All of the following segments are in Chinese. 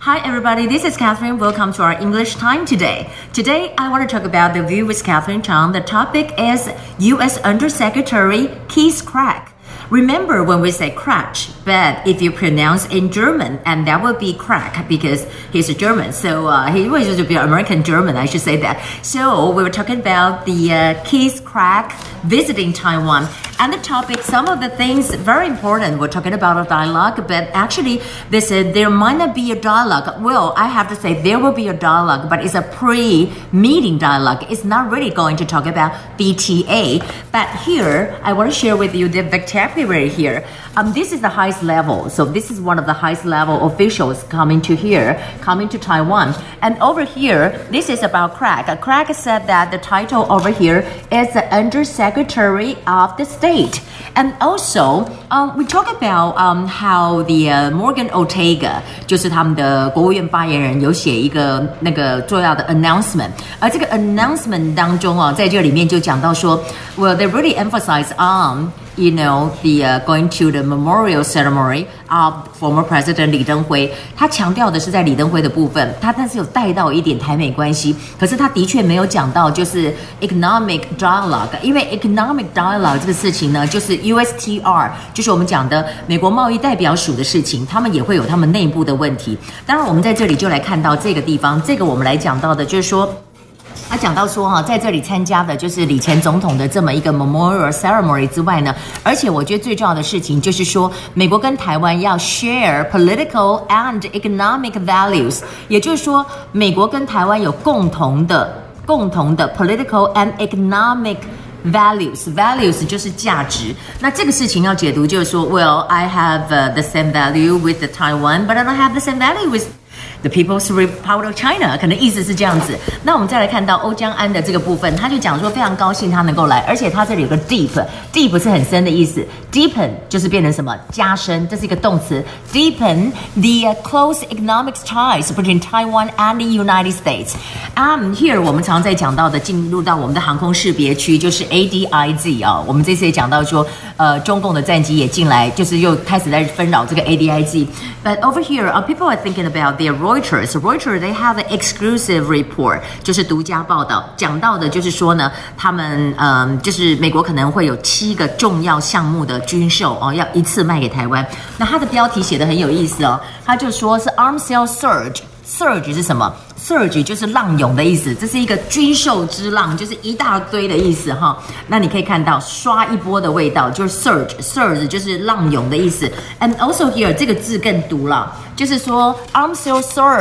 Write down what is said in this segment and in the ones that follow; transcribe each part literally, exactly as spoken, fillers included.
Hi everybody, this is Catherine. Welcome to our English time today. Today I want to talk about the view with Catherine Chang. The topic is U S Undersecretary Keith Krach. Remember when we say Krach, but if you pronounce in German, and that would be Krach because he's a German. So uh, he was just be American German, I should say that. So we were talking about the uh, Keith Krach visiting Taiwan. And the topic, some of the things very important. We're talking about a dialogue, but actually they said there might not be a dialogue. Well, I have to say there will be a dialogue, but it's a pre-meeting dialogue. It's not really going to talk about B T A. But here, I want to share with you the vocabulary here. Um, this is the highest level. So this is one of the highest level officials coming to here, coming to Taiwan. And over here, this is about Krach. Krach said that the title over here is the Undersecretary of the State. And also, um, we talk about um, how the uh, Morgan Ortega 就是他们的国务院发言人有写一个那个重要的 announcement， 而这个 announcement 当中啊，在这里面就讲到说 ，well they really emphasize on。You know, the uh, going to the memorial ceremony of former President 李登辉，他强调的是在李登辉的部分，他但是有带到一点台美关系，可是他的确没有讲到就是 economic dialogue， 因为 economic dialogue 这个事情呢，就是 U S T R， 就是我们讲的美国贸易代表署的事情，他们也会有他们内部的问题。当然，我们在这里就来看到这个地方，这个我们来讲到的就是说。他讲到说哈，在这里参加的就是李前总统的这么一个 memorial ceremony 之外呢，而且我觉得最重要的事情就是说，美国跟台湾要 share political and economic values， 也就是说，美国跟台湾有共同的、共同的 political and economic values values 就是价值。那这个事情要解读就是说 ，Well, I have、uh, the same value with the Taiwan, but I don't have the same value with。The People's Republic of China 可能意思是这样子。那我们再来看到欧江安的这个部分，他就讲说非常高兴他能够来，而且他这里有个 deep deep 是很深的意思 ，deepen 就是变成什么加深，这是一个动词 ，deepen the close economic ties between Taiwan and the United States. Um, here 我们常在讲到的进入到我们的航空识别区就是 A D I Z 啊、哦，我们这次也讲到说，呃，中共的战机也进来，就是又开始在纷扰这个 A D I Z. But over here, uh, people are thinking about their Reuters, Reuters, they have an exclusive report， 就是独家报道，讲到的就是说呢，他们嗯，就是美国可能会有七个重要项目的军售哦，要一次卖给台湾。那它的标题写得很有意思哦，他就说是 Arm Sale Surge。Surge 是什么 ？Surge 就是浪涌的意思，这是一个军售之浪，就是一大堆的意思哈。那你可以看到刷一波的味道，就是 surge，surge 就是浪涌的意思。And also here 这个字更毒了，就是说 arms sale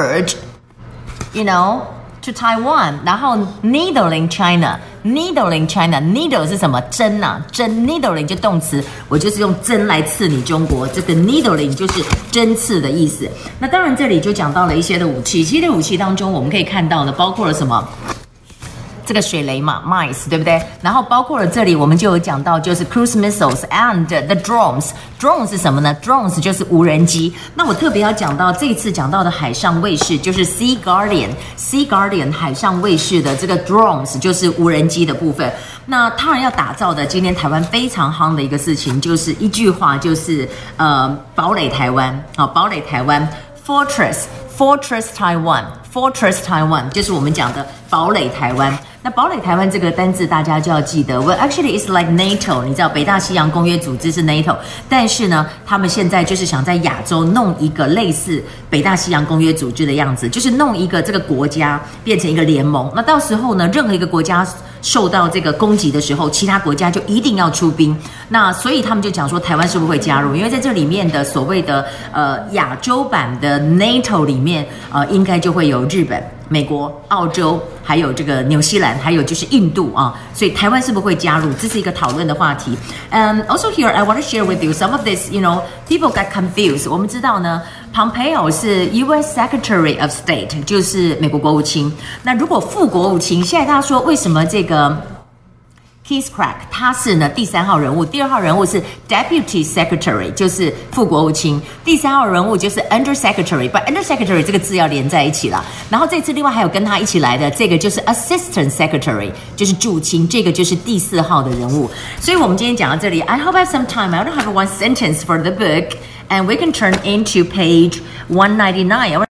surge，you know。to Taiwan， 然后 needling China，needling China，needle 是什么？针啊，针 needling 就动词，我就是用针来刺你中国，这个 needling 就是针刺的意思。那当然这里就讲到了一些的武器，其实武器当中我们可以看到的包括了什么？这个水雷嘛 ，mice 对不对？然后包括了这里，我们就有讲到，就是 cruise missiles and the drones。drones 是什么呢 ？drones 就是无人机。那我特别要讲到这一次讲到的海上卫士，就是 Sea Guardian，Sea Guardian 海上卫士的这个 drones 就是无人机的部分。那当然要打造的，今天台湾非常夯的一个事情，就是一句话，就是呃，堡垒台湾，好，堡垒台湾 ，Fortress。Fortress Taiwan，Fortress Taiwan 就是我们讲的堡垒台湾。那堡垒台湾这个单字大家就要记得 ，Well actually it's like NATO， 你知道北大西洋公约组织是 NATO， 但是呢，他们现在就是想在亚洲弄一个类似北大西洋公约组织的样子，就是弄一个这个国家变成一个联盟。那到时候呢，任何一个国家受到这个攻击的时候，其他国家就一定要出兵。那所以他们就讲说，台湾是不是会加入？因为在这里面的所谓的呃亚洲版的 NATO 里面，呃应该就会有日本、美国、澳洲，还有这个纽西兰，还有就是印度啊，所以台湾是不是会加入？这是一个讨论的话题。Um, also here I want to share with you some of this. You know, people got confused. 我们知道呢 ，Pompeo 是 U S Secretary of State， 就是美国国务卿。那如果副国务卿，现在大家说为什么这个？Keith Krach 他是呢第三号人物，第二号人物是 Deputy Secretary， 就是副国务卿，第三号人物就是 Undersecretary， but Undersecretary 这个字要连在一起啦。然后这次另外还有跟他一起来的这个就是 Assistant Secretary， 就是助卿，这个就是第四号的人物。所以我们今天讲到这里 ，I hope I have some time. I don't have one sentence for the book, and we can turn into page one ninety-nine.